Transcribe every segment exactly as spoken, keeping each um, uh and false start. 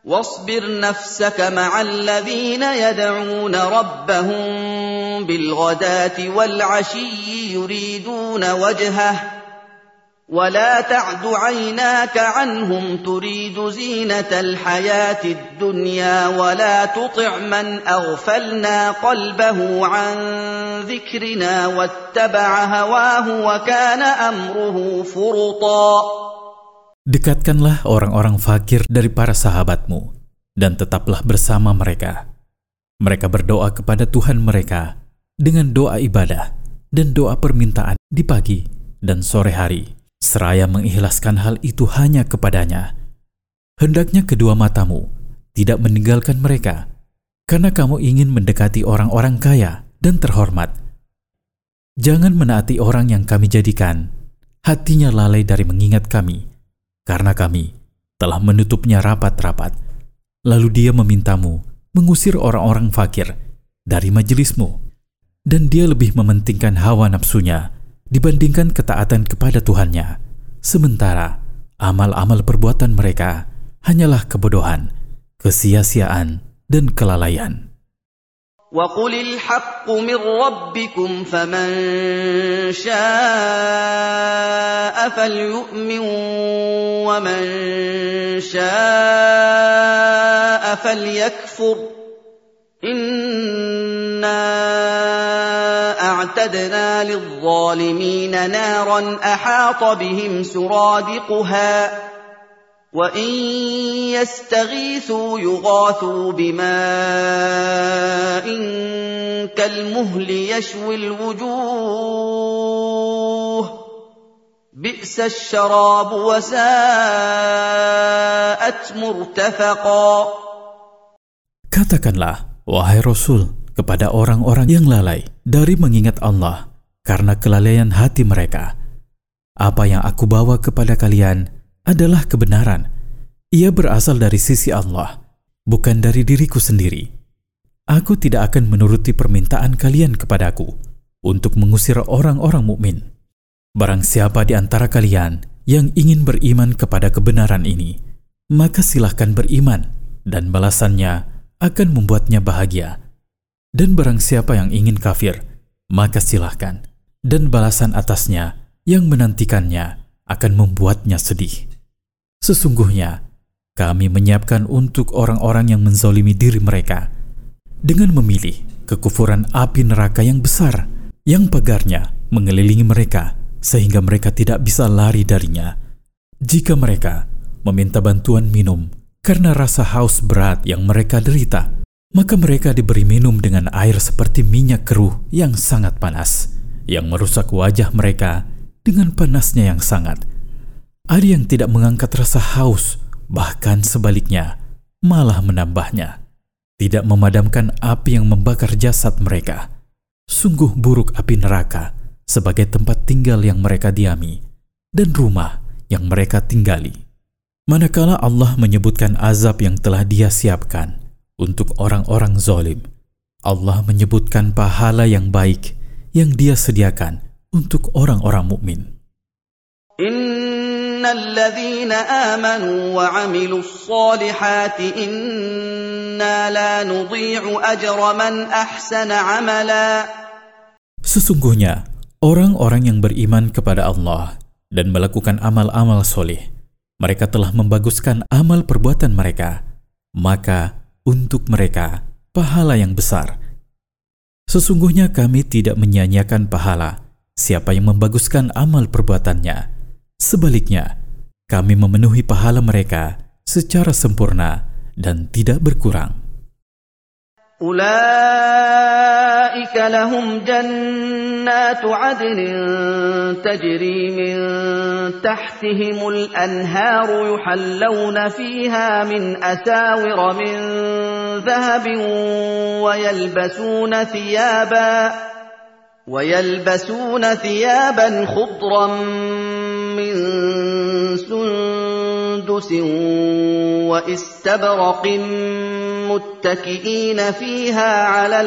واصبر نفسك مع الذين يدعون ربهم بالغداة والعشي يريدون وجهه ولا تعد عيناك عنهم تريد زينة الحياة الدنيا ولا تطع من أغفلنا قلبه عن ذكرنا واتبع هواه وكان أمره فرطا. Dekatkanlah orang-orang fakir dari para sahabatmu, dan tetaplah bersama mereka. Mereka berdoa kepada Tuhan mereka dengan doa ibadah dan doa permintaan di pagi dan sore hari, seraya mengikhlaskan hal itu hanya kepadanya. Hendaknya kedua matamu tidak meninggalkan mereka, karena kamu ingin mendekati orang-orang kaya dan terhormat. Jangan menaati orang yang kami jadikan hatinya lalai dari mengingat kami, karena kami telah menutupnya rapat-rapat. Lalu dia memintamu mengusir orang-orang fakir dari majelismu, dan dia lebih mementingkan hawa nafsunya dibandingkan ketaatan kepada Tuhannya. Sementara amal-amal perbuatan mereka hanyalah kebodohan, kesia-siaan, dan kelalaian. وَقُلِ الْحَقُّ مِنْ رَبِّكُمْ فَمَنْ شَاءَ فَلْيُؤْمِنْ وَمَنْ شَاءَ فَلْيَكْفُرْ إِنَّا أَعْتَدْنَا لِلظَّالِمِينَ نَارًا أَحَاطَ بِهِمْ سُرَادِقُهَا وَإِنْ يَسْتَغِيثُوا يُغَاثُوا بِمَاءٍ كَالْمُهْلِ يَشْوِي الْوُجُوهَ بِئْسَ الشَّرَابُ وَسَاءَتْ مُرْتَفَقًا. Katakanlah, wahai Rasul, kepada orang-orang yang lalai dari mengingat Allah karena kelalaian hati mereka, apa yang aku bawa kepada kalian adalah kebenaran. Ia berasal dari sisi Allah, bukan dari diriku sendiri. Aku tidak akan menuruti permintaan kalian kepadaku untuk mengusir orang-orang mukmin. Barang siapa di antara kalian yang ingin beriman kepada kebenaran ini, maka silahkan beriman, dan balasannya akan membuatnya bahagia. Dan barang siapa yang ingin kafir, maka silahkan, dan balasan atasnya yang menantikannya akan membuatnya sedih. Sesungguhnya, kami menyiapkan untuk orang-orang yang menzalimi diri mereka dengan memilih kekufuran api neraka yang besar, yang pagarnya mengelilingi mereka sehingga mereka tidak bisa lari darinya. Jika mereka meminta bantuan minum karena rasa haus berat yang mereka derita, maka mereka diberi minum dengan air seperti minyak keruh yang sangat panas, yang merusak wajah mereka dengan panasnya yang sangat. Ada yang tidak mengangkat rasa haus, bahkan sebaliknya, malah menambahnya. Tidak memadamkan api yang membakar jasad mereka. Sungguh buruk api neraka sebagai tempat tinggal yang mereka diami dan rumah yang mereka tinggali. Manakala Allah menyebutkan azab yang telah Dia siapkan untuk orang-orang zalim, Allah menyebutkan pahala yang baik yang Dia sediakan untuk orang-orang mukmin. إِنَّ الَّذِينَ آمَنُوا وَعَمِلُوا الصَّالِحَاتِ إِنَّا لَا نُضِيعُ أَجْرَ مَنْ أَحْسَنَ عَمَلًا. Sesungguhnya, orang-orang yang beriman kepada Allah dan melakukan amal-amal soleh, mereka telah membaguskan amal perbuatan mereka, maka untuk mereka pahala yang besar. Sesungguhnya kami tidak menyia-nyiakan pahala siapa yang membaguskan amal perbuatannya. Sebaliknya, kami memenuhi pahala mereka secara sempurna dan tidak berkurang. أُولَئِكَ لَهُمْ جَنَّاتُ عَدْنٍ تَجْرِي مِنْ تَحْتِهِمُ الْأَنْهَارُ يُحَلَّوْنَ فِيهَا مِنْ أَسَاوِرَ مِنْ ذَهَبٍ وَيَلْبَسُونَ ثِيَابًا وَيَلْبَسُونَ ثِيَابًا خُضْرًا مِنْ سُنْدُسٍ وَإِسْتَبْرَقٍ مُتَّكِئِينَ فِيهَا عَلَى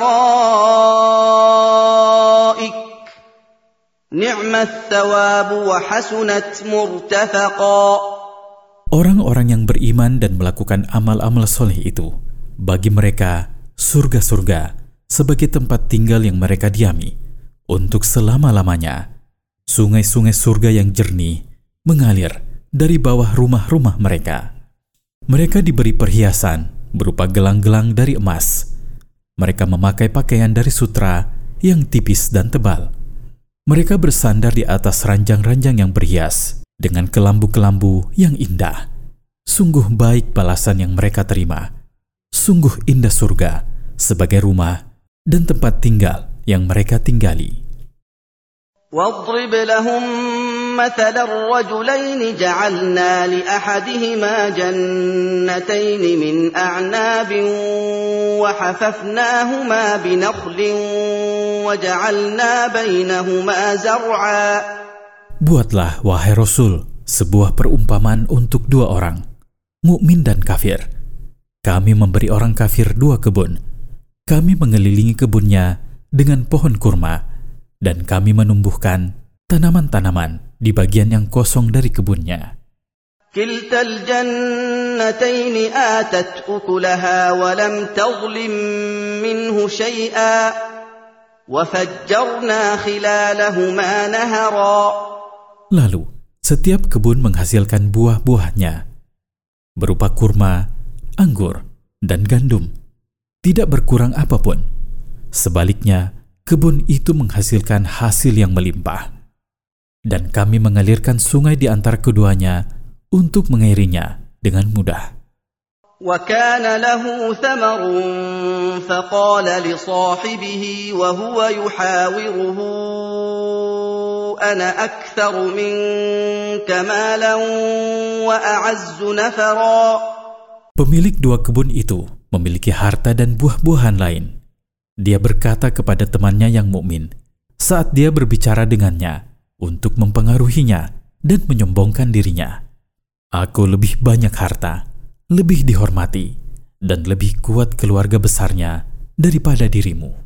الْأَرَائِكِ نِعْمَ الثَّوَابُ وَحَسُنَتْ مُرْتَفَقًا. Orang-orang yang beriman dan melakukan amal-amal soleh itu, bagi mereka surga-surga sebagai tempat tinggal yang mereka diami untuk selama-lamanya. Sungai-sungai surga yang jernih mengalir dari bawah rumah-rumah mereka. Mereka diberi perhiasan berupa gelang-gelang dari emas. Mereka memakai pakaian dari sutra yang tipis dan tebal. Mereka bersandar di atas ranjang-ranjang yang berhias dengan kelambu-kelambu yang indah. Sungguh baik balasan yang mereka terima. Sungguh indah surga sebagai rumah dan tempat tinggal yang mereka tinggali. واضرب لهم مثل الرجلين جعلنا لأحدهما جنتين من أعناب وحففناهما بنخل وجعلنا بينهما زرعا. Buatlah, wahai Rasul, sebuah perumpamaan untuk dua orang, mukmin dan kafir. Kami memberi orang kafir dua kebun. Kami mengelilingi kebunnya dengan pohon kurma, dan kami menumbuhkan tanaman-tanaman di bagian yang kosong dari kebunnya. كلتا الجنتين آتت أكلها ولم تظلم منه شيئا وفجرنا خلالهما نهرا. Lalu, setiap kebun menghasilkan buah-buahnya, berupa kurma, anggur, dan gandum. Tidak berkurang apapun. Sebaliknya, kebun itu menghasilkan hasil yang melimpah. Dan kami mengalirkan sungai di antara keduanya untuk mengairinya dengan mudah. وكان له ثمر فقال لصاحبه وهو يحاوره أنا أكثر منك مالا وأعز نفرا. Pemilik dua kebun itu memiliki harta dan buah-buahan lain. Dia berkata kepada temannya yang mukmin saat dia berbicara dengannya untuk mempengaruhinya dan menyombongkan dirinya, "Aku lebih banyak harta, lebih dihormati, dan lebih kuat keluarga besarnya daripada dirimu."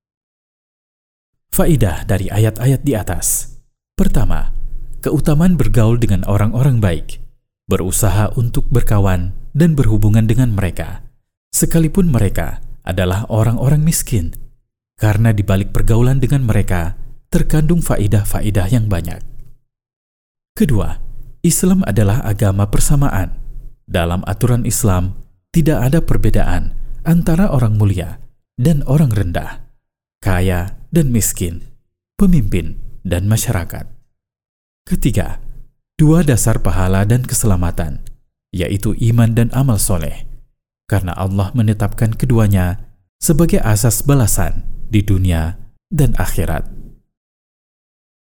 Faidah dari ayat-ayat di atas. Pertama, keutamaan bergaul dengan orang-orang baik, berusaha untuk berkawan dan berhubungan dengan mereka, sekalipun mereka adalah orang-orang miskin, karena di balik pergaulan dengan mereka terkandung faidah-faidah yang banyak. Kedua, Islam adalah agama persamaan. Dalam aturan Islam, tidak ada perbedaan antara orang mulia dan orang rendah, kaya dan miskin, pemimpin dan masyarakat. Ketiga, dua dasar pahala dan keselamatan, yaitu iman dan amal soleh, karena Allah menetapkan keduanya sebagai asas balasan di dunia dan akhirat.